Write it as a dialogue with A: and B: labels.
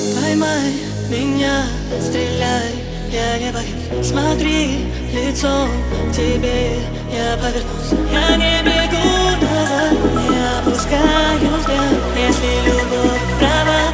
A: Поймай меня, стреляй, я не боюсь. Смотри лицом к тебе, я повернусь. Я не бегу назад, не опускаю взгляд. Если любовь права,